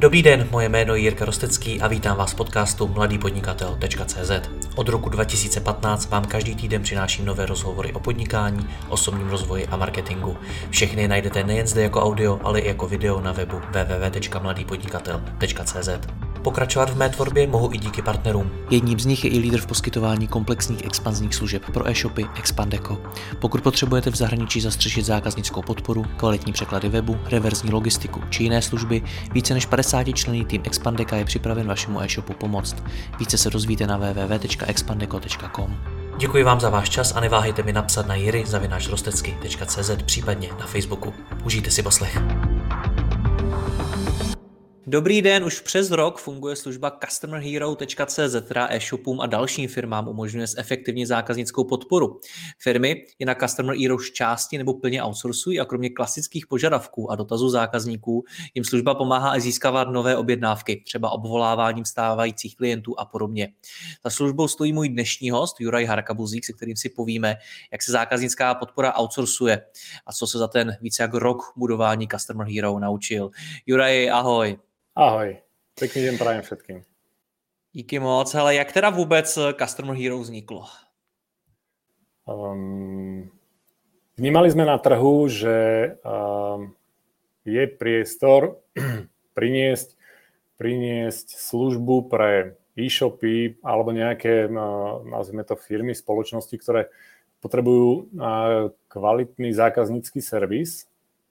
Dobrý den, moje jméno je Jirka Rostecký a vítám vás v podcastu mladýpodnikatel.cz. Od roku 2015 vám každý týden přináším nové rozhovory o podnikání, osobním rozvoji a marketingu. Všechny najdete nejen zde jako audio, ale i jako video na webu www.mladýpodnikatel.cz. Pokračovat v mé tvorbě mohu i díky partnerům. Jedním z nich je i lídr v poskytování komplexních expanzních služeb pro e-shopy Expandeco. Pokud potřebujete v zahraničí zastřešit zákaznickou podporu, kvalitní překlady webu, reverzní logistiku či jiné služby, více než 50členný tým Expandeca je připraven vašemu e-shopu pomoct. Více se dozvíte na www.expandeco.com. Děkuji vám za váš čas a neváhejte mi napsat na jiry@rostecky.cz, případně na Facebooku. Užijte si poslech. Dobrý den, už přes rok funguje služba customerhero.cz, která e-shopům a dalším firmám umožňuje zefektivnit zákaznickou podporu. Firmy je na Customer Hero části nebo plně outsourcují a kromě klasických požadavků a dotazů zákazníků jim služba pomáhá i získávat nové objednávky, třeba obvoláváním stávajících klientů a podobně. Za službou stojí můj dnešní host Juraj Harkabuzík, se kterým si povíme, jak se zákaznická podpora outsourcuje a co se za ten více jak rok budování Customer Hero naučil. Juraj, ahoj. Ahoj, pekný deň prajem všetkým. Díky moc, ale jak teda vůbec Customer Hero vzniklo? Vnímali sme na trhu, že je priestor priniesť službu pre e-shopy alebo nejaké, nazvime to firmy, spoločnosti, ktoré potrebujú kvalitný zákaznícky servis.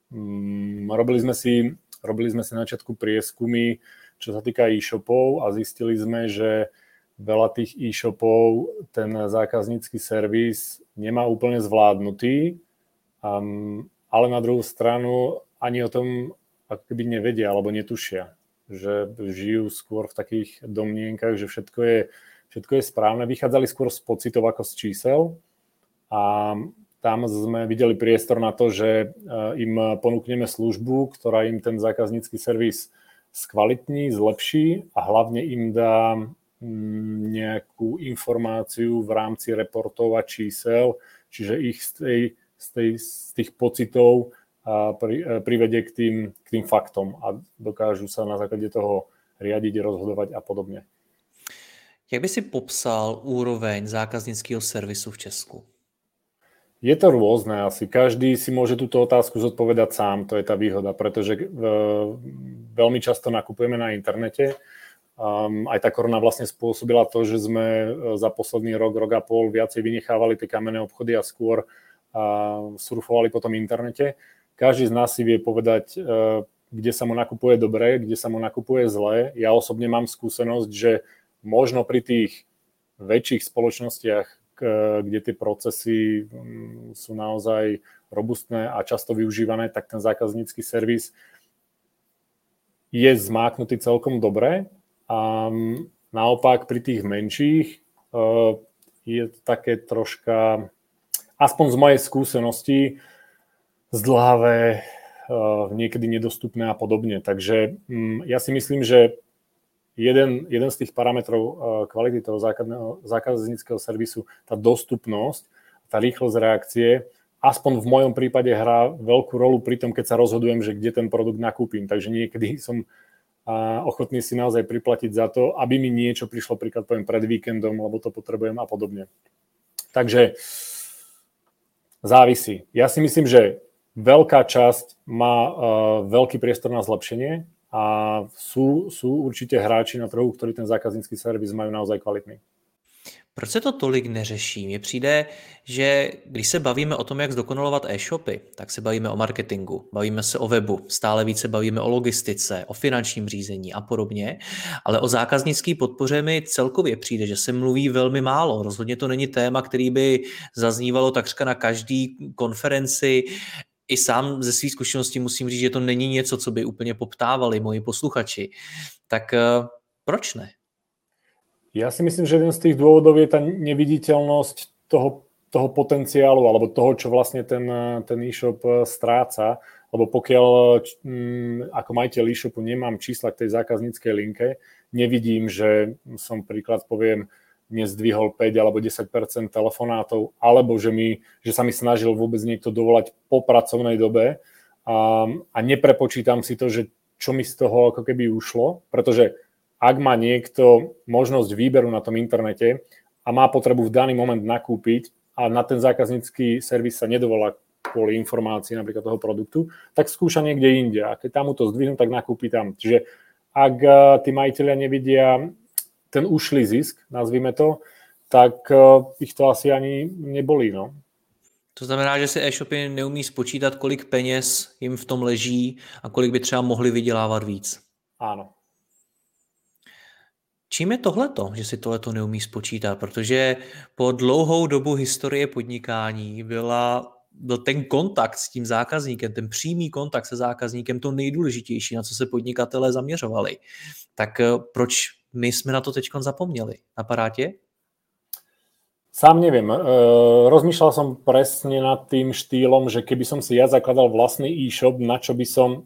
Robili sme si na začiatku prieskumy, čo sa týka e-shopov a zistili sme, že veľa tých e-shopov ten zákaznícky servis nemá úplne zvládnutý, ale na druhú stranu ani o tom ako keby nevedia alebo netušia, že žijú skôr v takých domnienkach, že všetko je správne. Vychádzali skôr z pocitov ako z čísel a tam sme videli priestor na to, že im ponúkneme službu, ktorá im ten zákaznícky servis skvalitní, zlepší a hlavne im dá nejakú informáciu v rámci reportov a čísel, čiže ich z tých pocitov privedie k tým faktom a dokážu sa na základe toho riadiť, rozhodovať a podobne. Jak by si popsal úroveň zákaznického servisu v Česku? Je to rôzne asi. Každý si môže túto otázku zodpovedať sám, to je tá výhoda, pretože veľmi často nakupujeme na internete. Aj tá korona vlastne spôsobila to, že sme za posledný rok a pol viacej vynechávali tie kamenné obchody a skôr surfovali po tom internete. Každý z nás si vie povedať, kde sa mu nakupuje dobre, kde sa mu nakupuje zle. Ja osobne mám skúsenosť, že možno pri tých väčších spoločnostiach, kde tie procesy sú naozaj robustné a často využívané, tak ten zákaznícky servis je zmáknutý celkom dobre. A naopak pri tých menších je také troška, aspoň z mojej skúsenosti, zdĺhavé, niekedy nedostupné a podobne. Takže ja si myslím, že jeden z tých parametrov kvality toho zákazníckeho servisu, tá dostupnosť, tá rýchlosť reakcie, aspoň v mojom prípade hrá veľkú rolu pri tom, keď sa rozhodujem, že kde ten produkt nakúpim. Takže niekedy som ochotný si naozaj priplatiť za to, aby mi niečo prišlo, príklad poviem pred víkendom, lebo to potrebujem a podobne. Takže závisí. Ja si myslím, že veľká časť má veľký priestor na zlepšenie, a sú určitě hráči na trhu, ktorí ten zákaznícky servis majú naozaj kvalitný. Proč se to tolik neřeší? Mně přijde, že když se bavíme o tom, jak zdokonalovat e-shopy, tak se bavíme o marketingu, bavíme se o webu, stále více bavíme o logistice, o finančním řízení a podobně, ale o zákaznické podpoře mi celkově přijde, že se mluví velmi málo. Rozhodně to není téma, který by zaznívalo takřka na každý konferenci. I sám ze svých zkušeností musím říct, že to není něco, co by úplně poptávali moji posluchači. Tak proč ne? Ja si myslím, že jeden z tých dôvodov je tá neviditeľnosť toho potenciálu alebo toho, čo vlastne ten e-shop stráca. Lebo pokiaľ ako majiteľ e-shopu nemám čísla k tej zákazníckej linke, nevidím, že som príklad poviem nezdvihol 5 alebo 10% telefonátov, alebo že sa mi snažil vôbec niekto dovolať po pracovnej dobe a neprepočítam si to, že čo mi z toho ako keby ušlo, pretože ak má niekto možnosť výberu na tom internete a má potrebu v daný moment nakúpiť a na ten zákaznícky servis sa nedovolá kvôli informácii napríklad toho produktu, tak skúša niekde inde. A keď tam mu to zdvihnú, tak nakúpi tam. Čiže ak tí majiteľia nevidia ten ušlý zisk, nazvime to, tak ich to asi ani nebolí. No. To znamená, že si e-shopy neumí spočítat, kolik peněz jim v tom leží a kolik by třeba mohli vydělávat víc. Áno. Čím je tohleto, že si tohleto neumí spočítat? Protože po dlouhou dobu historie podnikání byl ten kontakt s tím zákazníkem, ten přímý kontakt se zákazníkem to nejdůležitější, na co se podnikatelé zaměřovali. Tak proč my jsme na to teďkon zapomněli? Napadá tě? Sám neviem. Rozmýšľal som presne nad tým štýlom, že keby som si ja zakladal vlastný e-shop, na čo by som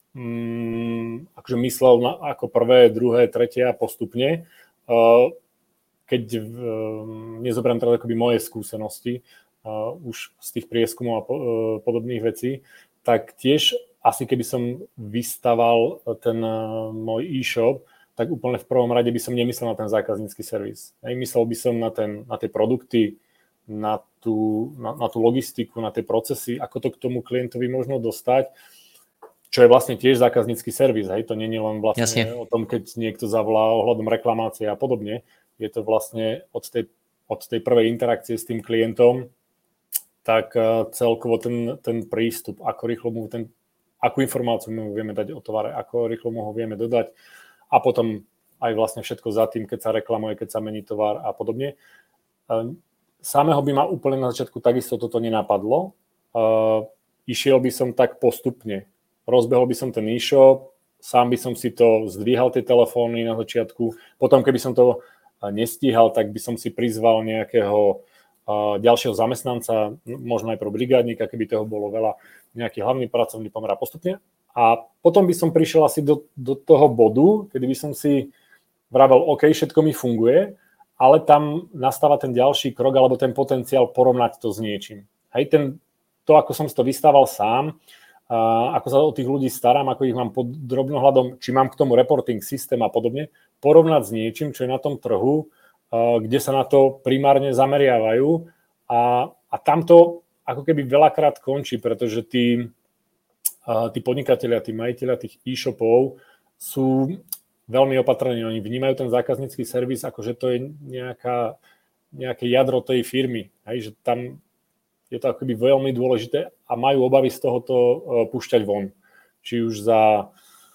akože myslel ako prvé, druhé, tretie a postupne. Keď nezoberiem teda akoby moje skúsenosti už z tých prieskumov a podobných vecí, tak tiež asi keby som vystaval ten môj e-shop, tak úplne v prvom rade by som nemyslel na ten zákaznícky servis. Myslel by som na tie produkty, na tú logistiku, na tie procesy, ako to k tomu klientovi možno dostať, čo je vlastne tiež zákaznícky servis. Hej? To nie je len vlastne Jasne. O tom, keď niekto zavolá ohľadom reklamácie a podobne. Je to vlastne od tej prvej interakcie s tým klientom, tak celkovo ten prístup, ako rýchlo mu akú informáciu mu vieme dať o tovare, ako rýchlo mu ho vieme dodať, a potom aj vlastne všetko za tým, keď sa reklamuje, keď sa mení tovar a podobne. Samého by ma úplne na začiatku takisto toto nenapadlo. Išiel by som tak postupne. Rozbehol by som ten e-shop, sám by som si to zdvíhal tie telefóny na začiatku. Potom, keby som to nestíhal, tak by som si prizval nejakého ďalšieho zamestnanca, možno aj pro brigádnika, keby toho bolo veľa, nejaký hlavný pracovný pomer a postupne. A potom by som prišiel asi do toho bodu, kedy by som si vravel, OK, všetko mi funguje, ale tam nastáva ten ďalší krok alebo ten potenciál porovnať to s niečím. Hej, to, ako som si to vystával sám, ako sa o tých ľudí starám, ako ich mám pod drobnohľadom, či mám k tomu reporting systém a podobne, porovnať s niečím, čo je na tom trhu, kde sa na to primárne zameriavajú a tam to ako keby veľakrát končí, pretože tí podnikatelia, tí majiteľia tých e-shopov sú veľmi opatrní. Oni vnímajú ten zákaznícky servis, ako že to je nejaké jadro tej firmy. Hej, že tam je to akoby veľmi dôležité a majú obavy z tohoto púšťať von. Či už za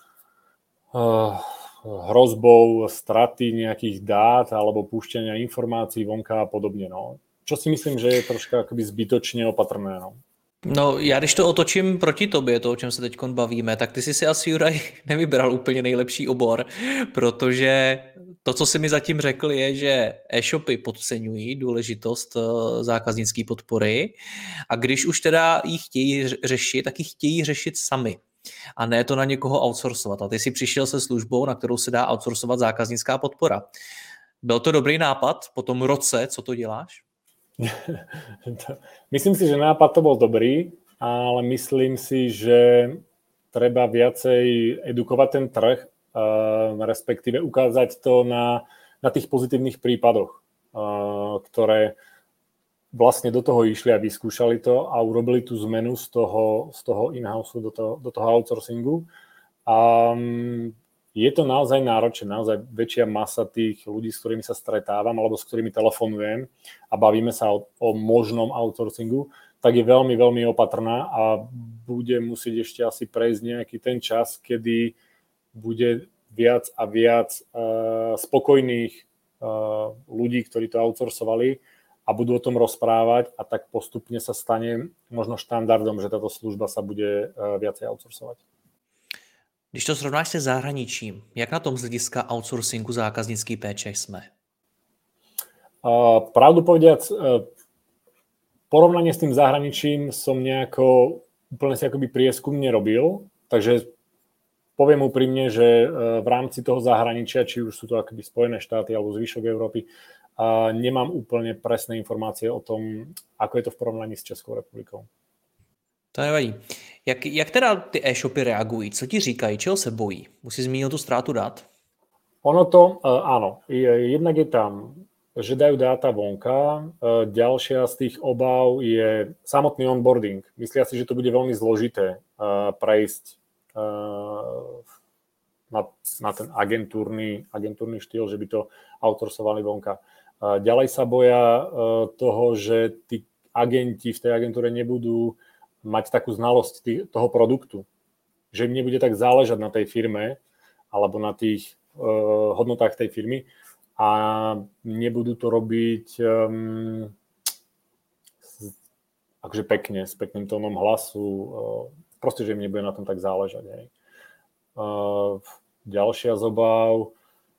hrozbou straty nejakých dát alebo púšťania informácií vonka a podobne. No. Čo si myslím, že je troška akoby zbytočne opatrné. No. No, já když to otočím proti tobě, to, o čem se teď bavíme, tak ty jsi si asi, Juraj, nevybral úplně nejlepší obor, protože to, co jsi mi zatím řekl, je, že e-shopy podceňují důležitost zákaznické podpory a když už teda ji chtějí řešit, tak ji chtějí řešit sami a ne to na někoho outsourcovat. A ty jsi přišel se službou, na kterou se dá outsourcovat zákaznická podpora. Byl to dobrý nápad po tom roce, co to děláš? Myslím si, že nápad to bol dobrý, ale myslím si, že treba viacej edukovať ten trh, respektíve ukázať to na tých pozitívnych prípadoch, ktoré vlastne do toho išli a vyskúšali to a urobili tú zmenu z toho in-house do toho outsourcingu. Je to naozaj náročné, naozaj väčšia masa tých ľudí, s ktorými sa stretávam alebo s ktorými telefonujem a bavíme sa o možnom outsourcingu, tak je veľmi, veľmi opatrná a bude musieť ešte asi prejsť nejaký ten čas, kedy bude viac a viac spokojných ľudí, ktorí to outsourcovali a budú o tom rozprávať a tak postupne sa stane možno štandardom, že táto služba sa bude viacej outsourcovať. Když to srovnáš se zahraničím, jak na tom z hlediska outsourcingu zákaznický péče jsme? Pravdu povediac, porovnanie s tým zahraničím som nejako úplne si akoby prieskum nerobil, takže poviem úprimne, že v rámci toho zahraničia, či už sú to akoby Spojené štáty alebo zvyšok Európy, nemám úplne presné informácie o tom, ako je to v porovnaní s Českou republikou. To nevadí. Jak teda ty e-shopy reagují? Co ti říkají? Čeho se bojí? Už jsi zmínil tu ztrátu dat? Ono to, áno, jednak je tam, že dajú dáta vonka, ďalšia z tých obáv je samotný onboarding. Myslia si, že to bude veľmi zložité prejsť na ten agentúrny štýl, že by to outsourcovali vonka. Ďalej sa boja toho, že tí agenti v tej agentúre nebudú mať takú znalosť toho produktu, že im nebude tak záležať na tej firme alebo na tých hodnotách tej firmy a nebudú to robiť akože pekne, s pekným tónom hlasu, proste, že im nebude na tom tak záležať. Hej. Ďalšia z obáv,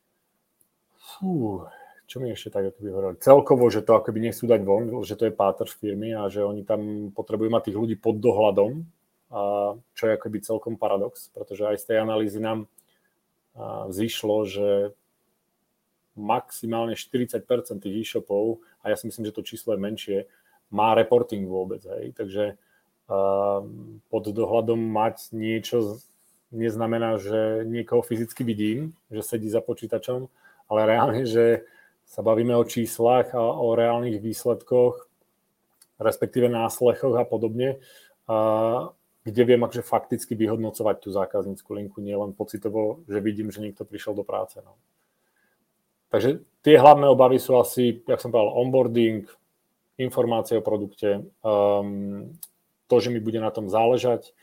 čo mi ešte tak akoby hovorili, celkovo, že to akoby nechcú dať von, že to je páter firmy a že oni tam potrebujú mať tých ľudí pod dohľadom, čo je akoby celkom paradox, pretože aj z tej analýzy nám vzýšlo, že maximálne 40% tých e-shopov, a ja si myslím, že to číslo je menšie, má reporting vôbec. Hej. Takže pod dohľadom mať niečo neznamená, že niekoho fyzicky vidím, že sedí za počítačom, ale reálne, že sa bavíme o číslach a o reálnych výsledkoch, respektíve náslechoch a podobne, kde viem akože fakticky vyhodnocovať tú zákaznícku linku, nie len pocitovo, že vidím, že niekto prišiel do práce. No. Takže tie hlavné obavy sú asi, jak som povedal, onboarding, informácie o produkte, to, že mi bude na tom záležať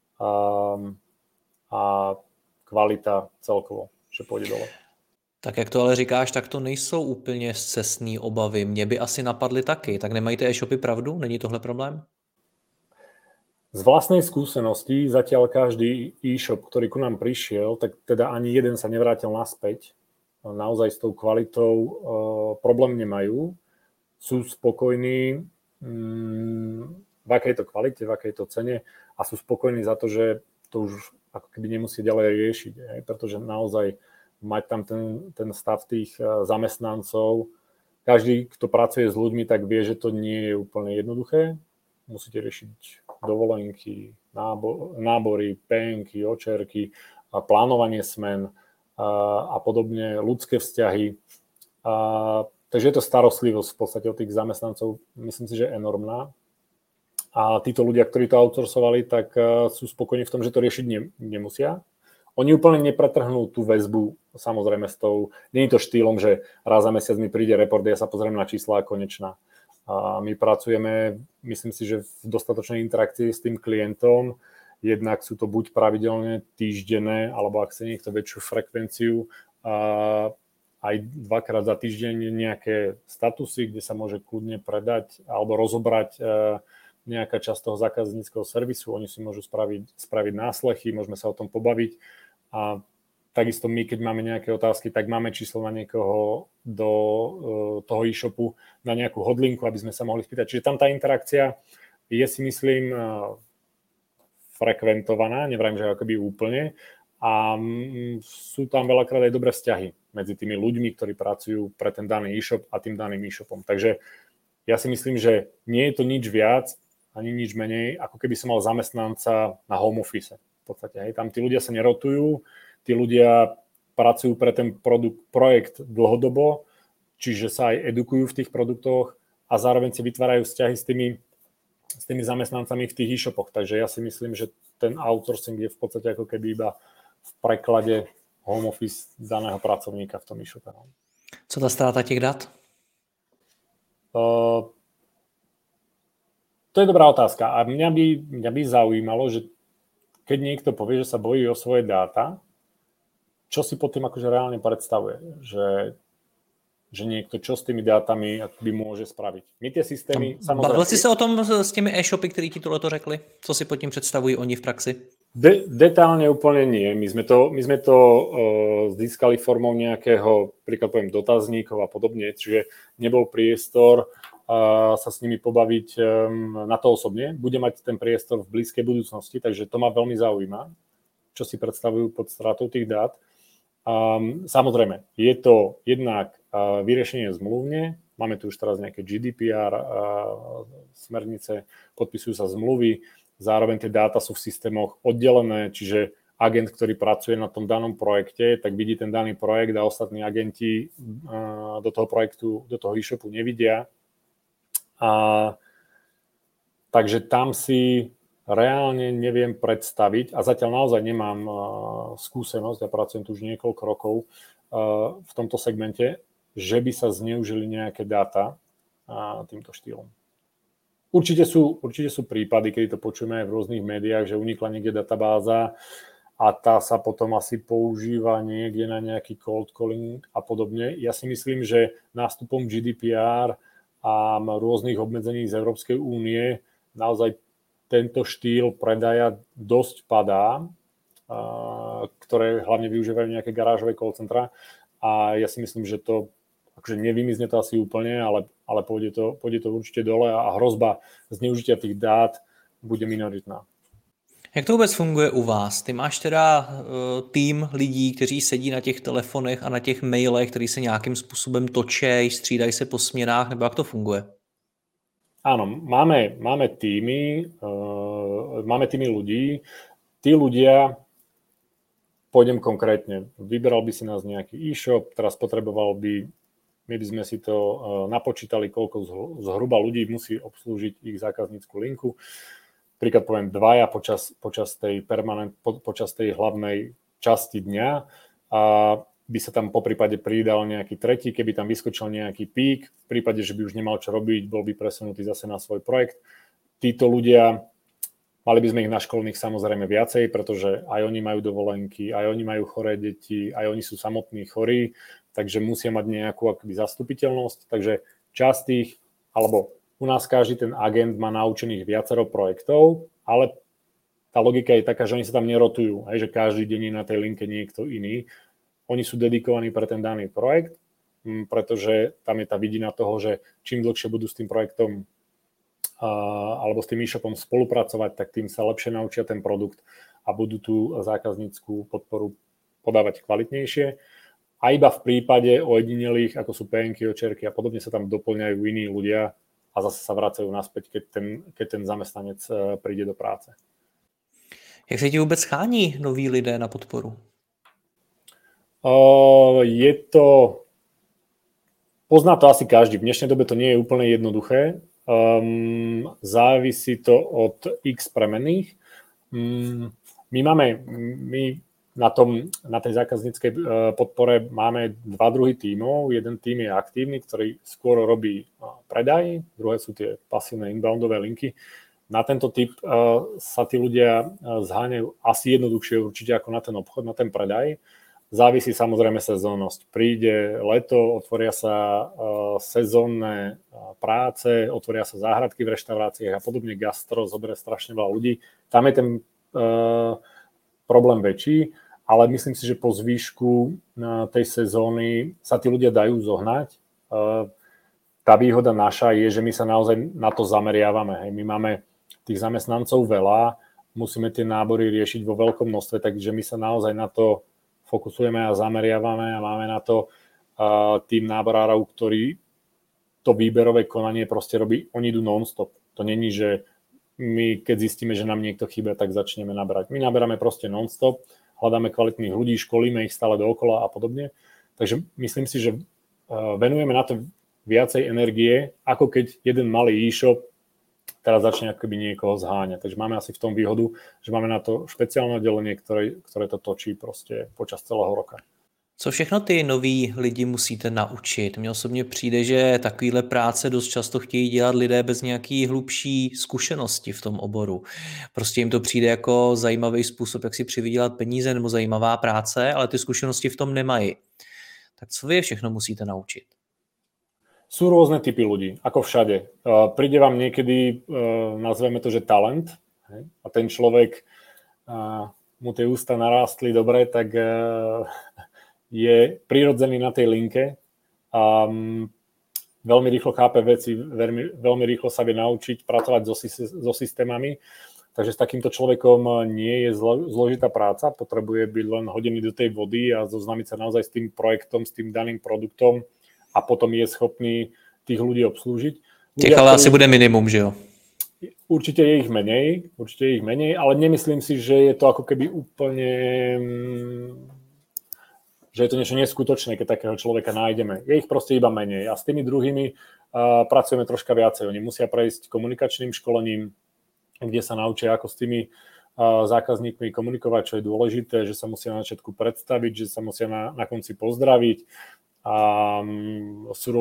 a kvalita celkovo, že pôjde dole. Tak jak to ale říkáš, tak to nejsou úplně scestný obavy. Mě by asi napadly taky. Tak nemají ty e-shopy pravdu? Není tohle problém? Z vlastnej skúsenosti zatiaľ každý e-shop, ktorý ku nám prišiel, tak teda ani jeden sa nevrátil naspäť. Naozaj s tou kvalitou problém nemajú. Sú spokojní v akej to kvalite, v akej to cene a sú spokojní za to, že to už ako keby nemusí ďalej riešiť. Pretože naozaj mať tam ten stav tých zamestnancov. Každý, kto pracuje s ľuďmi, tak vie, že to nie je úplne jednoduché. Musíte riešiť dovolenky, nábory, penky, očerky, plánovanie smen a podobne, ľudské vzťahy. Takže je to starostlivosť v podstate od tých zamestnancov, myslím si, že je enormná. A títo ľudia, ktorí to outsourcovali, tak sú spokojní v tom, že to riešiť nemusia. Oni úplne nepretrhnú tú väzbu, samozrejme s tou, nie je to štýlom, že raz za mesiac mi príde report, ja sa pozriem na čísla a konečná. A my pracujeme, myslím si, že v dostatočnej interakcii s tým klientom. Jednak sú to buď pravidelne týždenné, alebo ak chce niekto väčšiu frekvenciu, aj 2-krát za týždeň nejaké statusy, kde sa môže kľudne predať alebo rozobrať nejaká časť toho zákazníckeho servisu. Oni si môžu spraviť náslechy, môžeme sa o tom pobaviť. A takisto my, keď máme nejaké otázky, tak máme číslo na niekoho do toho e-shopu, na nejakú hodlinku, aby sme sa mohli spýtať. Čiže tam tá interakcia je, si myslím, frekventovaná, nevrajím, že akoby úplne. A sú tam veľakrát aj dobré vzťahy medzi tými ľuďmi, ktorí pracujú pre ten daný e-shop a tým daným e-shopom. Takže ja si myslím, že nie je to nič viac, ani nič menej, ako keby som mal zamestnanca na home office. V podstate, hej. Tam tí ľudia sa nerotujú, tí ľudia pracujú pre ten projekt dlhodobo, čiže sa aj edukujú v tých produktoch a zároveň si vytvárajú vzťahy s tými zamestnancami v tých e-shopoch. Takže ja si myslím, že ten outsourcing je v podstate ako keby iba v preklade home office daného pracovníka v tom e-shope. Co ta ztráta těch dat? To je dobrá otázka. A mňa by zaujímalo, že keď niekto povie, že sa bojí o svoje dáta, čo si pod tým akože reálne predstavuje? Že niekto čo s tými dátami by môže spraviť. My tie systémy... Bavil jsi se o tom s těmi e-shopy, který ti tohleto řekli? Co si pod tím představují oni v praxi? Detálne úplne nie. My sme to získali formou nejakého, príklad poviem, dotazníkov a podobne, čiže nebol priestor sa s nimi pobaviť na to osobne. Bude mať ten priestor v blízkej budúcnosti, takže to ma veľmi zaujíma, čo si predstavujú pod stratou tých dát. Samozrejme, je to jednak vyriešenie zmluvne, máme tu už teraz nejaké GDPR, smernice, podpisujú sa zmluvy, zároveň tie dáta sú v systémoch oddelené, čiže agent, ktorý pracuje na tom danom projekte, tak vidí ten daný projekt a ostatní agenti do toho projektu, do toho e-shopu nevidia. Takže tam si reálne neviem predstaviť a zatiaľ naozaj nemám skúsenosť, ja pracujem tu už niekoľko rokov v tomto segmente, že by sa zneužili nejaké dáta týmto štýlom. Určite sú prípady, keď to počujeme aj v rôznych médiách, že unikla niekde databáza a tá sa potom asi používa niekde na nejaký cold calling a podobne. Ja si myslím, že nástupom GDPR a rôznych obmedzení z Európskej únie naozaj tento štýl predaja dosť padá, ktoré hlavne využívajú nejaké garážové call centra a ja si myslím, že to akože nevymizne to asi úplne, ale pôjde to určite dole a hrozba zneužitia tých dát bude minoritná. Jak to vůbec funguje u vás? Ty máš teda tým lidí, kteří sedí na těch telefonech a na těch mailech, který se nějakým způsobem točí, střídají se po směnách, nebo jak to funguje? Áno, máme týmy ľudí. Tí ľudia, pôjdem konkrétne, vyberal by si nás nejaký e-shop, teraz my by sme si to napočítali, koľko zhruba ľudí musí obslúžiť ich zákaznícku linku. Príklad poviem 2 počas tej hlavnej časti dňa a by sa tam poprípade pridal nejaký tretí, keby tam vyskočil nejaký pík, v prípade, že by už nemal čo robiť, bol by presunutý zase na svoj projekt. Títo ľudia, mali by sme ich naškolených samozrejme viacej, pretože aj oni majú dovolenky, aj oni majú choré deti, aj oni sú samotní chorí, takže musia mať nejakú akoby zastupiteľnosť. Takže časť tých, alebo u nás každý ten agent má naučených viacero projektov, ale tá logika je taká, že oni sa tam nerotujú, že každý deň je na tej linke niekto iný. Oni sú dedikovaní pre ten daný projekt, pretože tam je tá vidina toho, že čím dlhšie budú s tým projektom alebo s tým e-shopom spolupracovať, tak tým sa lepšie naučia ten produkt a budú tú zákazníckú podporu podávať kvalitnejšie. A iba v prípade ojedinelých, ako sú PN-ky, očerky a podobne, sa tam doplňajú iní ľudia a zase sa vracajú naspäť, keď ten zamestnanec príde do práce. Jak se ti vůbec schání noví lidé na podporu? Pozná to asi každý. V dnešnej dobe to nie je úplne jednoduché. Závisí to od x premenných. My na tej zákazníckej podpore máme 2 druhy tímov. Jeden tím je aktívny, ktorý skôr robí predaj, druhé sú tie pasívne inboundové linky. Na tento typ sa tí ľudia zháňajú asi jednoduchšie určite ako na ten obchod, na ten predaj. Závisí samozrejme sezónnosť. Príde leto, otvoria sa sezónne práce, otvoria sa záhradky v reštauráciách a podobne, gastro zoberie strašne veľa ľudí. Tam je ten problém väčší, ale myslím si, že po zvýšku tej sezóny sa tí ľudia dajú zohnať. Tá výhoda naša je, že my sa naozaj na to zameriavame. My máme tých zamestnancov veľa, musíme tie nábory riešiť vo veľkom množstve, takže my sa naozaj na to fokusujeme a zameriavame a máme na to tým náborárov, ktorí to výberové konanie proste robí, oni idú non-stop. To není, že my keď zistíme, že nám niekto chýba, tak začneme nabrať. My naberáme proste non-stop, hľadáme kvalitných ľudí, školíme ich stále dookola a podobne. Takže myslím si, že venujeme na to viacej energie, ako keď jeden malý e-shop teraz začne akoby niekoho zháňať. Takže máme asi v tom výhodu, že máme na to špeciálne oddelenie, ktoré to točí prostě počas celého roka. Co všechno ty noví lidi musíte naučit? Mně osobně přijde, že takovýhle práce dost často chtějí dělat lidé bez nějaký hlubší zkušenosti v tom oboru. Prostě jim to přijde jako zajímavý způsob, jak si přivydělat peníze nebo zajímavá práce, ale ty zkušenosti v tom nemají. Tak co vy všechno musíte naučit? Sú rôzne typy ľudí, ako všade. Príde vám niekedy, nazveme to, že talent, a ten človek, mu tie ústa narástli dobre, tak je prirodzený na tej linke a veľmi rýchlo chápe veci, veľmi rýchlo sa vie naučiť pracovať so systémami. Takže s takýmto človekom nie je zložitá práca, potrebuje byť len hodený do tej vody a zoznámiť sa naozaj s tým projektom, s tým daným produktom, a potom je schopný tých ľudí obslúžiť. Těch ale asi bude minimum, že jo? určite je ich menej, ale nemyslím si, že je to ako keby úplne, že je to niečo neskutočné, keď takého človeka nájdeme. Je ich proste iba menej a s tými druhými pracujeme troška viacej. Oni musia prejsť komunikačným školením, kde sa naučia, ako s tými zákazníkmi komunikovať, čo je dôležité, že sa musia na začiatku predstaviť, že sa musia na konci pozdraviť. A sú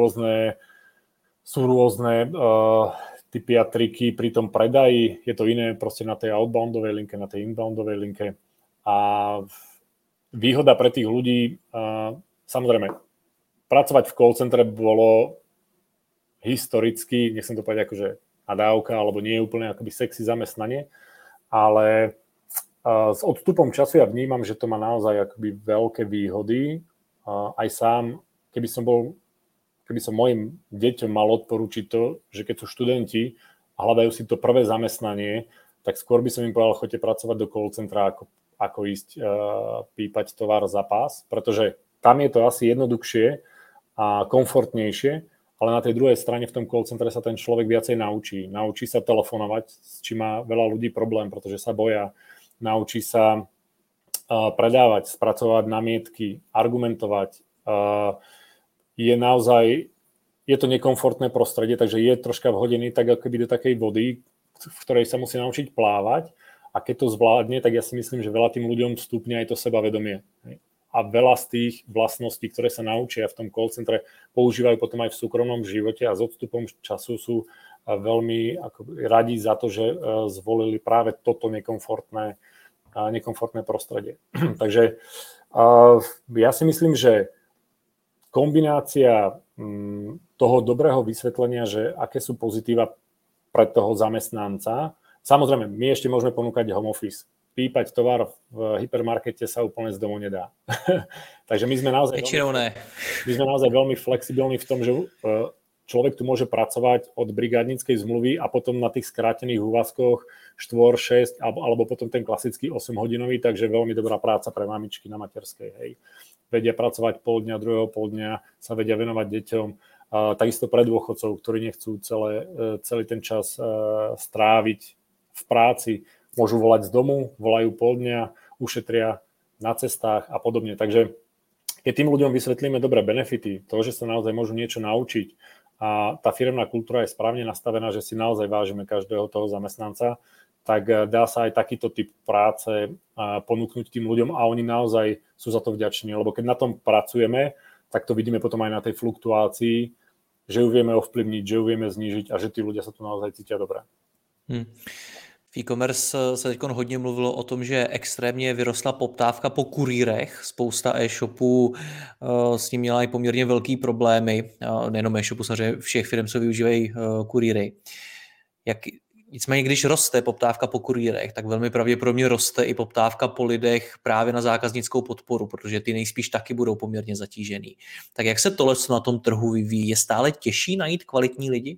rôzne typy a triky pri tom predaji. Je to iné proste na tej outboundovej linke, na tej inboundovej linke. A výhoda pre tých ľudí, samozrejme, pracovať v call centre bolo historicky, nechcem to povedať akože nadávka, alebo nie je úplne akoby sexy zamestnanie, ale s odstupom času ja vnímam, že to má naozaj akoby veľké výhody. Aj sám, keby som mojim deťom mal odporučiť to, že keď sú študenti a hľadajú si to prvé zamestnanie, tak skôr by som im povedal, choďte pracovať do call centra, ako ísť pípať tovar za pás, pretože tam je to asi jednoduchšie a komfortnejšie, ale na tej druhej strane v tom call centre sa ten človek viacej naučí. Naučí sa telefonovať, s čím má veľa ľudí problém, pretože sa boja. Naučí sa predávať, spracovať námietky, argumentovať. Je to nekomfortné prostredie, takže je troška vhodený tak ako keby do takej vody, v ktorej sa musí naučiť plávať. A keď to zvládne, tak ja si myslím, že veľa tým ľuďom vstúpne aj to sebavedomie. A veľa z tých vlastností, ktoré sa naučia v tom call centre, používajú potom aj v súkromnom živote a s odstupom času sú veľmi radi za to, že zvolili práve toto nekomfortné prostredie. Takže ja si myslím, že kombinácia toho dobrého vysvetlenia, že aké sú pozitíva pre toho zamestnanca, samozrejme, my ešte môžeme ponúkať home office. Pípať tovar v hypermarkete sa úplne z domu nedá. Takže my sme naozaj veľmi flexibilní v tom, že človek tu môže pracovať od brigádnickej zmluvy a potom na tých skrátených úvazkoch 4, 6 alebo potom ten klasický 8-hodinový, takže veľmi dobrá práca pre mamičky na materskej. Hej. Vedia pracovať pol dňa, druhého pol dňa, sa vedia venovať deťom. Takisto pre dôchodcov, ktorí nechcú celý ten čas stráviť v práci, môžu volať z domu, volajú pol dňa, ušetria na cestách a podobne. Takže keď tým ľuďom vysvetlíme dobré benefity, to, že sa naozaj môžu niečo naučiť a tá firemná kultúra je správne nastavená, že si naozaj vážime každého toho zamestnanca, tak dá sa aj takýto typ práce ponúknuť tým ľuďom a oni naozaj sú za to vďační, lebo keď na tom pracujeme, tak to vidíme potom aj na tej fluktuácii, že ju vieme ovplyvniť, že ju vieme znížiť a že tí ľudia sa tu naozaj cítia dobre. V e-commerce se teď hodně mluvilo o tom, že extrémně vyrostla poptávka po kurýrech. Spousta e-shopů s tím měla i poměrně velký problémy. Nejenom e-shopů, samozřejmě všech firm, co využívají kurýry. Nicméně, když roste poptávka po kurýrech, tak velmi pravděpodobně roste i poptávka po lidech právě na zákaznickou podporu, protože ty nejspíš taky budou poměrně zatížený. Tak jak se tohle na tom trhu vyvíjí? Je stále těžší najít kvalitní lidi?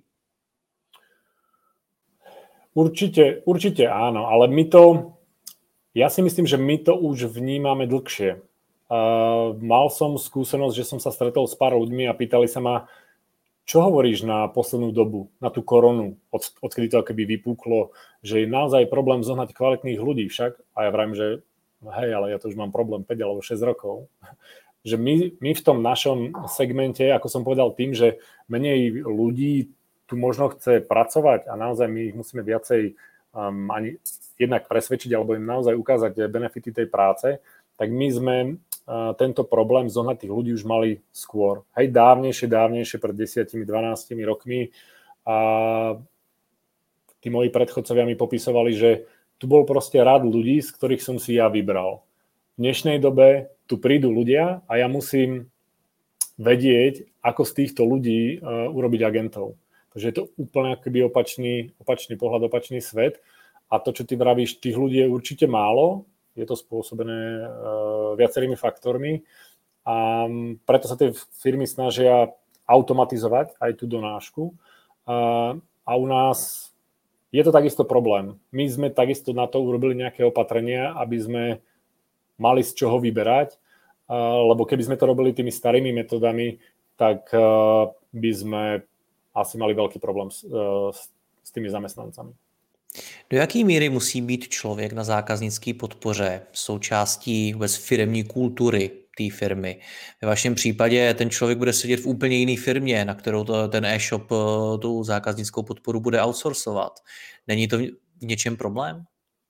Určite áno, ale ja si myslím, že my to už vnímame dlhšie. Mal som skúsenosť, že som sa stretol s pár ľuďmi a pýtali sa ma, čo hovoríš na poslednú dobu, na tú koronu, odkedy to akoby vypuklo, že je naozaj problém zohnať kvalitných ľudí však. A ja vravím, že hej, ale ja to už mám problém 5 alebo 6 rokov. Že my v tom našom segmente, ako som povedal, tým, že menej ľudí tu možno chce pracovať a naozaj my ich musíme viacej ani jednak presvedčiť alebo im naozaj ukázať benefity tej práce, tak my sme tento problém zohnať tých ľudí už mali skôr. Hej, dávnejšie, pred 10-12 rokmi a tí moji predchodcovia mi popisovali, že tu bol proste rád ľudí, z ktorých som si ja vybral. V dnešnej dobe tu prídu ľudia a ja musím vedieť, ako z týchto ľudí urobiť agentov. Takže je to úplne akoby opačný pohľad, opačný svet. A to, čo ty vravíš, tých ľudí je určite málo. Je to spôsobené viacerými faktormi. A preto sa tie firmy snažia automatizovať aj tú donášku. A u nás je to takisto problém. My sme takisto na to urobili nejaké opatrenia, aby sme mali z čoho vyberať. Lebo keby sme to robili tými starými metodami, tak by sme asi mali veľký problém s tými zamestnancami. Do jaké míry musí být člověk na zákaznické podpoře součástí vůbec firemní kultury té firmy? Ve vašem případě ten člověk bude sedět v úplně jiné firmě, na kterou ten e-shop tu zákaznickou podporu bude outsourcovat. Není to v něčem problém?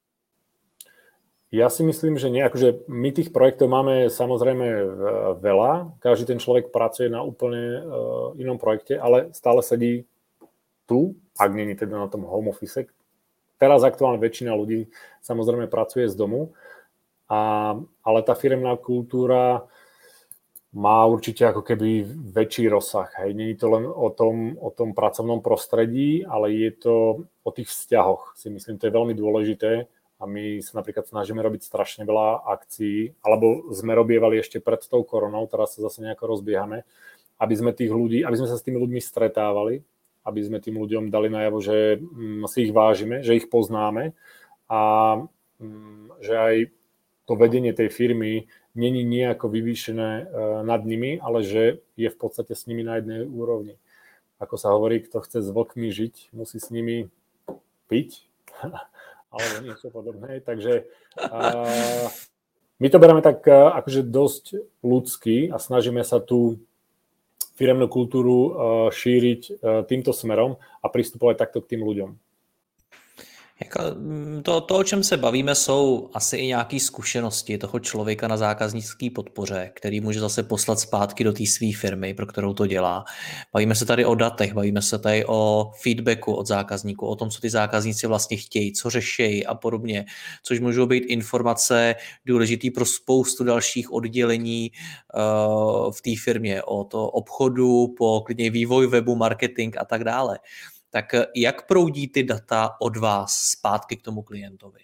Ja si myslím, že nie. Akože my tých projektov máme samozrejme veľa. Každý ten človek pracuje na úplne inom projekte, ale stále sedí tu, ak nie teda na tom home office. Teraz aktuálne väčšina ľudí samozrejme pracuje z domu, ale tá firemná kultúra má určite ako keby väčší rozsah. Hej. Nie je to len o tom pracovnom prostredí, ale je to o tých vzťahoch. Si myslím, to je veľmi dôležité. A my sa napríklad snažíme robiť strašne veľa akcií, alebo sme robievali ešte pred tou koronou, teraz sa zase nejako rozbiehame, aby sme sa s tými ľuďmi stretávali, aby sme tým ľuďom dali najavo, že si ich vážime, že ich poznáme a že aj to vedenie tej firmy není nejako vyvýšené nad nimi, ale že je v podstate s nimi na jednej úrovni. Ako sa hovorí, kto chce s vlkmi žiť, musí s nimi piť. Alebo niečo podobné. Takže my to bereme tak akože dosť ľudský a snažíme sa tú firemnú kultúru šíriť týmto smerom a pristupovať takto k tým ľuďom. To, o čem se bavíme, jsou asi i nějaké zkušenosti toho člověka na zákaznické podpoře, který může zase poslat zpátky do té své firmy, pro kterou to dělá. Bavíme se tady o datech, bavíme se tady o feedbacku od zákazníků, o tom, co ty zákazníci vlastně chtějí, co řeší a podobně, což můžou být informace důležité pro spoustu dalších oddělení v té firmě, od obchodu po klidně vývoj webu, marketing a tak dále. Tak jak proudí ty data od vás zpátky k tomu klientovi?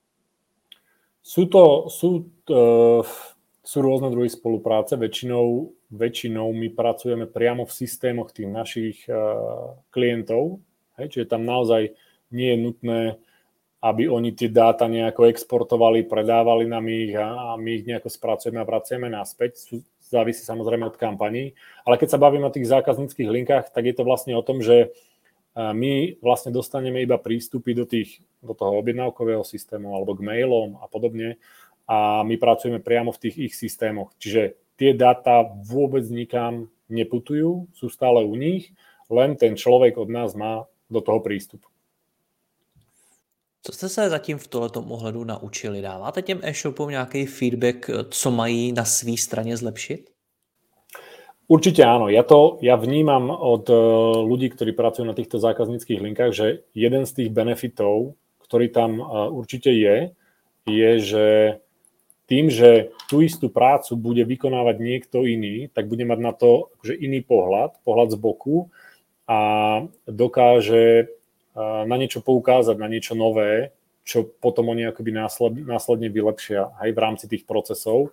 Sú rôzne druhy spolupráce. Väčšinou my pracujeme priamo v systémoch tých našich klientov. Hej, čiže tam naozaj nie je nutné, aby oni tie dáta nejako exportovali, predávali nám ich a my ich nejako spracujeme a vraciame naspäť. Závisí samozrejme od kampaní. Ale keď sa bavíme o tých zákazníckych linkách, tak je to vlastne o tom, že my vlastne dostaneme iba prístupy do toho objednávkového systému alebo k mailom a podobne a my pracujeme priamo v tých ich systémoch. Čiže tie dáta vôbec nikam neputujú, sú stále u nich, len ten človek od nás má do toho prístup. Co jste se zatím v tohletom ohledu naučili? Dáváte těm e-shopům nějaký feedback, co mají na své straně zlepšit? Určite áno. Ja vnímam od ľudí, ktorí pracujú na týchto zákazníckych linkách, že jeden z tých benefitov, ktorý tam určite je, že tým, že tú istú prácu bude vykonávať niekto iný, tak bude mať na to akože iný pohľad z boku a dokáže na niečo poukázať, na niečo nové, čo potom oni akoby následne vylepšia aj v rámci tých procesov.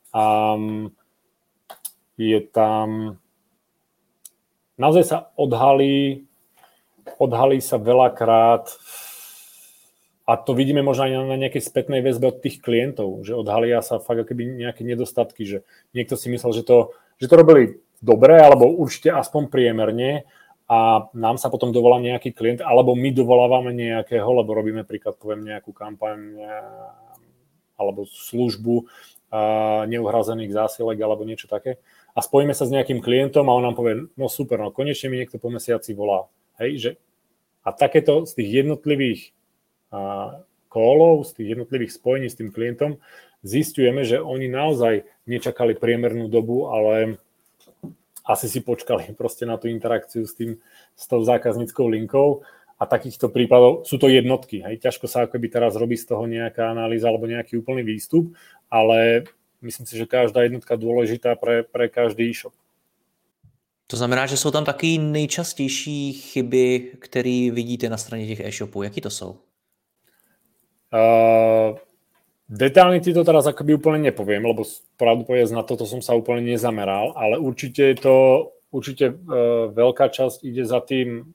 Je tam... Naozaj sa odhalí sa veľakrát, a to vidíme možno aj na nejakej spätnej väzbe od tých klientov, že odhalia sa fakt akoby nejaké nedostatky, že niekto si myslel, že to robili dobre, alebo určite aspoň priemerne a nám sa potom dovolá nejaký klient, alebo my dovolávame nejakého, lebo robíme príklad, poviem, nejakú kampaň alebo službu neuhrazených zásielek alebo niečo také. A spojíme sa s nejakým klientom a on nám povie, no super, no konečne mi niekto po mesiaci volá. Hej, že a takéto z tých jednotlivých callov, z tých jednotlivých spojení s tým klientom zisťujeme, že oni naozaj nečakali priemernú dobu, ale asi si počkali proste na tú interakciu s tou zákazníckou linkou a takýchto prípadov sú to jednotky. Hej. Ťažko sa akoby teraz robí z toho nejaká analýza alebo nejaký úplný výstup, ale myslím si, že každá jednotka dôležitá pre každý e-shop. To znamená, že jsou tam taky nejčastější chyby, které vidíte na straně těch e-shopů. Jaký to jsou? Detálne ti to teraz akoby úplne nepoviem, lebo pravdu povedať na toto som sa úplne nezameral, ale určite je to veľká časť ide za tým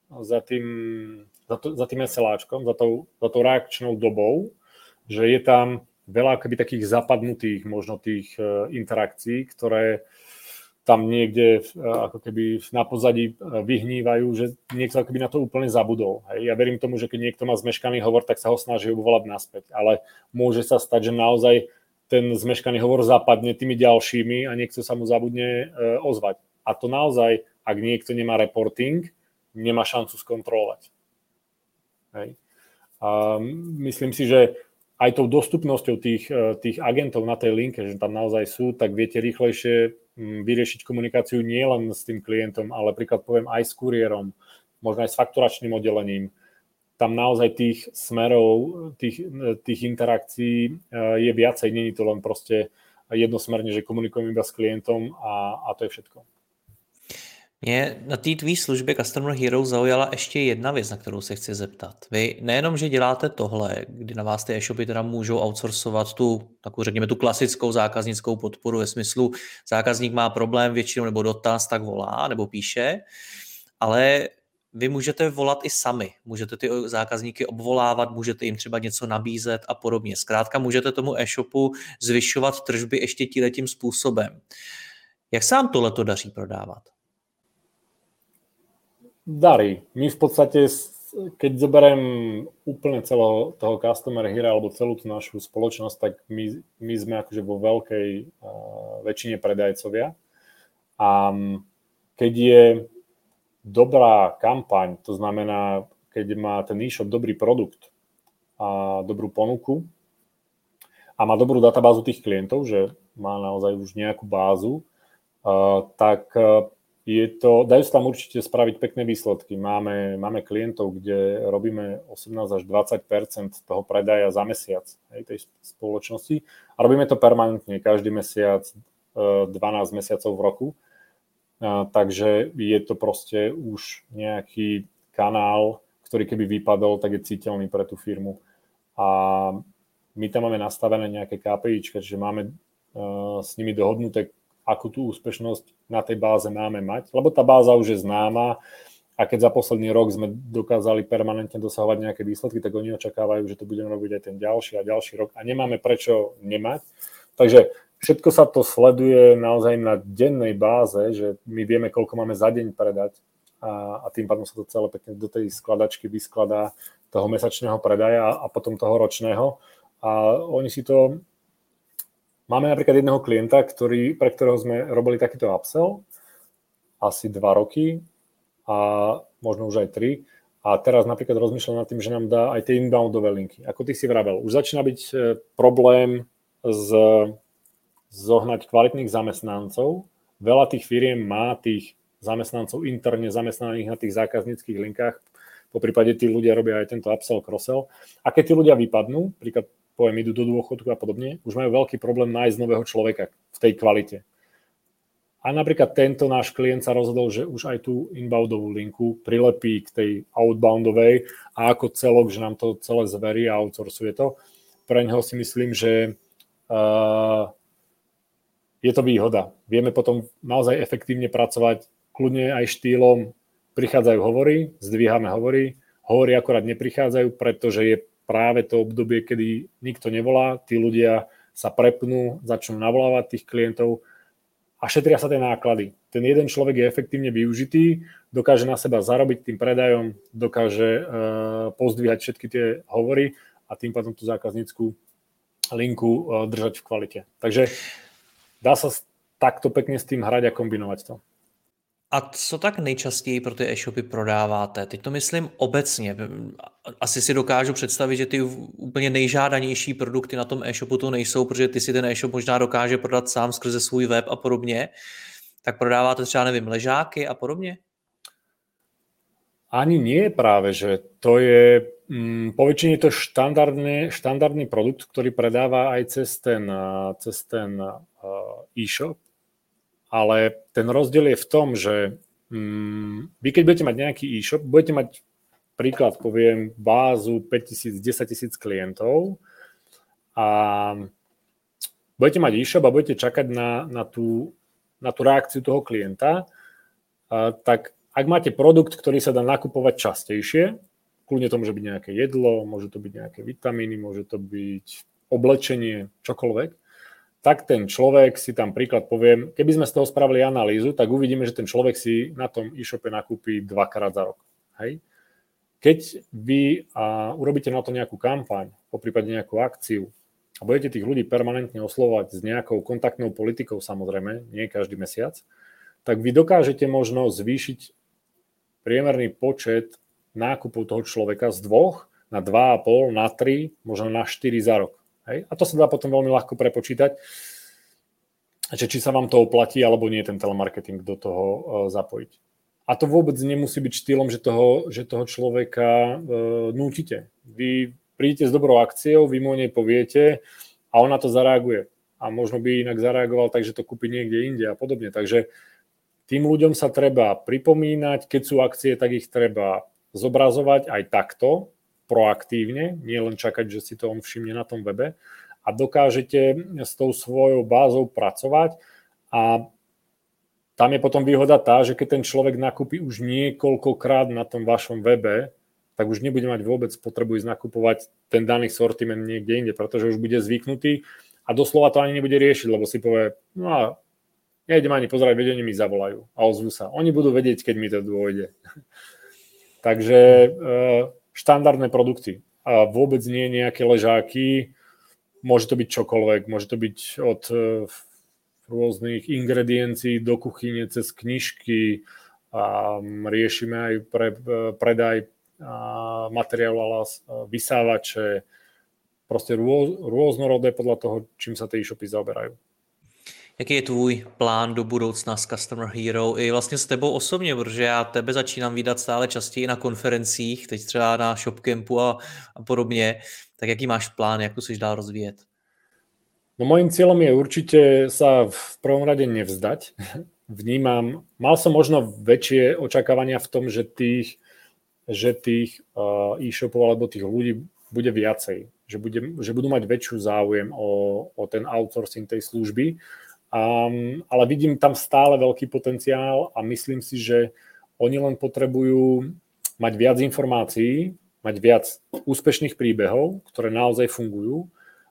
SLAčkom, za tou reakčnou dobou, že je tam veľa akoby takých zapadnutých možno tých interakcií, ktoré tam niekde ako keby na pozadí vyhnívajú, že niekto ako keby na to úplne zabudol. Hej. Ja verím tomu, že keď niekto má zmeškaný hovor, tak sa ho snaží obvolať naspäť, ale môže sa stať, že naozaj ten zmeškaný hovor zapadne tými ďalšími a niekto sa mu zabudne ozvať. A to naozaj, ak niekto nemá reporting, nemá šancu skontrolovať. Hej. A myslím si, že aj tou dostupnosťou tých agentov na tej linke, že tam naozaj sú, tak viete rýchlejšie vyriešiť komunikáciu nielen s tým klientom, ale príklad poviem aj s kuriérom, možno aj s fakturačným oddelením. Tam naozaj tých smerov, tých interakcií je viacej, nie je to len proste jednosmerne, že komunikujem iba s klientom a to je všetko. Mě na té tvý službě Customer Hero zaujala ještě jedna věc, na kterou se chci zeptat. Vy nejenom, že děláte tohle, kdy na vás ty e-shopy teda můžou outsourcovat takovou, řekněme, tu klasickou zákaznickou podporu ve smyslu zákazník má problém většinou nebo dotaz, tak volá nebo píše, ale vy můžete volat i sami, můžete ty zákazníky obvolávat, můžete jim třeba něco nabízet a podobně. Zkrátka můžete tomu e-shopu zvyšovat tržby ještě tímhletím způsobem. Jak se vám tohleto daří prodávat? Darí. My v podstate, keď zoberiem úplne celého toho Customer Hero alebo celú tú našu spoločnosť, tak my sme akože vo veľkej väčšine predajcovia. A keď je dobrá kampaň, to znamená, keď má ten e-shop dobrý produkt a dobrú ponuku a má dobrú databázu tých klientov, že má naozaj už nejakú bázu, tak dajú sa tam určite spraviť pekné výsledky. Máme klientov, kde robíme 18 až 20% toho predaja za mesiac tej spoločnosti a robíme to permanentne, každý mesiac, 12 mesiacov v roku. Takže je to proste už nejaký kanál, ktorý keby vypadol, tak je citeľný pre tú firmu. A my tam máme nastavené nejaké KPIčka, čiže máme s nimi dohodnuté, akú tú úspešnosť na tej báze máme mať, lebo tá báza už je známa a keď za posledný rok sme dokázali permanentne dosahovať nejaké výsledky, tak oni očakávajú, že to budeme robiť aj ten ďalší a ďalší rok a nemáme prečo nemať. Takže všetko sa to sleduje naozaj na dennej báze, že my vieme, koľko máme za deň predať a tým pádom sa to celé pekne do tej skladačky vyskladá toho mesačného predaja a potom toho ročného a oni si to... Máme napríklad jedného klienta, pre ktorého sme robili takýto upsell asi 2 roky a možno už aj 3. A teraz napríklad rozmýšľam nad tým, že nám dá aj tie inboundové linky. Ako ty si vravel, už začína byť problém zohnať kvalitných zamestnancov. Veľa tých firiem má tých zamestnancov interne zamestnaných na tých zákazníckych linkách. Po prípade tí ľudia robia aj tento upsell, cross-sell. A keď tí ľudia vypadnú, príklad poviem, idú do dôchodku a podobne, už majú veľký problém nájsť nového človeka v tej kvalite. A napríklad tento náš klient sa rozhodol, že už aj tú inboundovú linku prilepí k tej outboundovej a ako celok, že nám to celé zverí a outsourcuje to. Pre neho si myslím, že je to výhoda. Vieme potom naozaj efektívne pracovať, kľudne aj štýlom prichádzajú hovory, zdvíhame hovory akorát neprichádzajú, pretože je práve to obdobie, kedy nikto nevolá, tí ľudia sa prepnú, začnú navolávať tých klientov a šetria sa tie náklady. Ten jeden človek je efektívne využitý, dokáže na seba zarobiť tým predajom, dokáže pozdvíhať všetky tie hovory a tým pádom tú zákazníckú linku držať v kvalite. Takže dá sa takto pekne s tým hrať a kombinovať to. A co tak nejčastěji pro ty e-shopy prodáváte? Teď to myslím obecně. Asi si dokážu představit, že ty úplně nejžádanější produkty na tom e-shopu to nejsou, protože ty si ten e-shop možná dokáže prodat sám skrze svůj web a podobně. Tak prodáváte třeba, nevím, ležáky a podobně? Ani nie práve, že to je, poväčšine je to štandardný produkt, ktorý predáva aj cez ten e-shop. Ale ten rozdiel je v tom, že vy keď budete mať nejaký e-shop, budete mať príklad, poviem, bázu 5 000, 10 000 klientov a budete mať e-shop a budete čakať na tú reakciu toho klienta, tak ak máte produkt, ktorý sa dá nakupovať častejšie, kľudne to môže byť nejaké jedlo, môže to byť nejaké vitamíny, môže to byť oblečenie, čokoľvek, tak ten človek si tam príklad poviem, keby sme z toho spravili analýzu, tak uvidíme, že ten človek si na tom e-shope nakúpi 2-krát za rok. Hej? Keď vy urobíte na to nejakú kampaň, poprípade nejakú akciu a budete tých ľudí permanentne oslovovať s nejakou kontaktnou politikou, samozrejme, nie každý mesiac, tak vy dokážete možno zvýšiť priemerný počet nákupov toho človeka z 2 na 2,5, na 3, možno na 4 za rok. Hej? A to sa dá potom veľmi ľahko prepočítať, že či sa vám to oplatí, alebo nie ten telemarketing do toho zapojiť. A to vôbec nemusí byť štýlom, že toho človeka nútite. Vy prídete s dobrou akciou, vy mu o nej poviete a on na to zareaguje. A možno by inak zareagoval tak, že to kúpi niekde inde a podobne. Takže tým ľuďom sa treba pripomínať, keď sú akcie, tak ich treba zobrazovať aj takto, proaktívne, nie len čakať, že si to on všimne na tom webe a dokážete s tou svojou bázou pracovať a tam je potom výhoda tá, že keď ten človek nakúpi už niekoľkokrát na tom vašom webe, tak už nebude mať vôbec potrebu ísť nakupovať ten daný sortiment niekde inde, pretože už bude zvyknutý a doslova to ani nebude riešiť, lebo si povie, no a nejdem ani pozerať, veď oni mi zavolajú a ozvú sa. Oni budú vedieť, keď mi to dôjde. Takže štandardné produkty a vôbec nie nejaké ležáky, môže to byť čokoľvek, môže to byť od rôznych ingrediencií do kuchyne cez knižky a riešime aj predaj materiálu a vysávače, proste rôznorodé podľa toho, čím sa tie e-shopy zaoberajú. Jaký je tvůj plán do budoucna s Customer Hero i vlastně s tebou osobně, protože já tebe začínám vídat stále častěji na konferencích, teď třeba na ShopCampu a podobně, tak jaký máš plán, jak to chceš dál rozvíjet? No mojím cieľom je určite sa v prvom rade nevzdať. Mal som možno väčšie očakávania v tom, že tých e-shopov alebo tých ľudí bude viacej, že budú mať väčšiu záujem o ten outsourcing tej služby, ale vidím tam stále veľký potenciál a myslím si, že oni len potrebujú mať viac informácií, mať viac úspešných príbehov, ktoré naozaj fungujú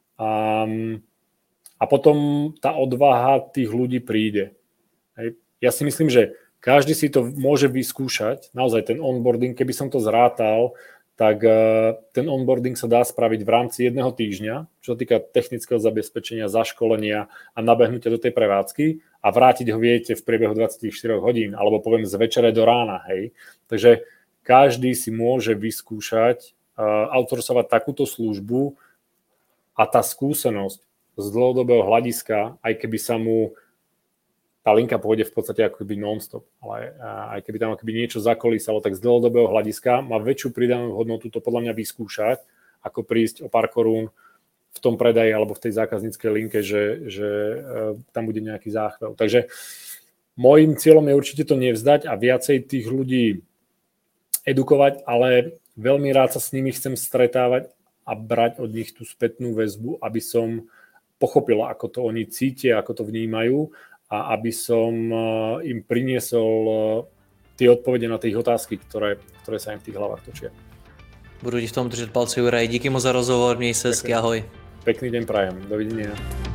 a potom tá odvaha tých ľudí príde. Ja si myslím, že každý si to môže vyskúšať, naozaj ten onboarding, keby som to zrátal, tak ten onboarding sa dá spraviť v rámci 1 týždňa, čo sa týka technického zabezpečenia, zaškolenia a nabehnutia do tej prevádzky a vrátiť ho viete v priebehu 24 hodín, alebo poviem z večere do rána. Hej. Takže každý si môže vyskúšať outsourcovať takúto službu a tá skúsenosť z dlhodobého hľadiska, aj keby sa mu tá linka pôjde v podstate ako keby non-stop, ale aj keby tam akoby niečo zakolísalo, tak z dlhodobého hľadiska má väčšiu pridanú hodnotu to podľa mňa vyskúšať, ako prísť o pár korún v tom predaji alebo v tej zákazníckej linke, že tam bude nejaký záchvel. Takže môjim cieľom je určite to nevzdať a viacej tých ľudí edukovať, ale veľmi rád sa s nimi chcem stretávať a brať od nich tú spätnú väzbu, aby som pochopil, ako to oni cítia, ako to vnímajú a aby som im priniesol tie odpovede na tie otázky, ktoré sa im v tých hlavách točia. Budu ti v tom držet palce, Juraj. Díky moc za rozhovor, měj se hezky, ahoj. Pekný deň prajem, dovidenia.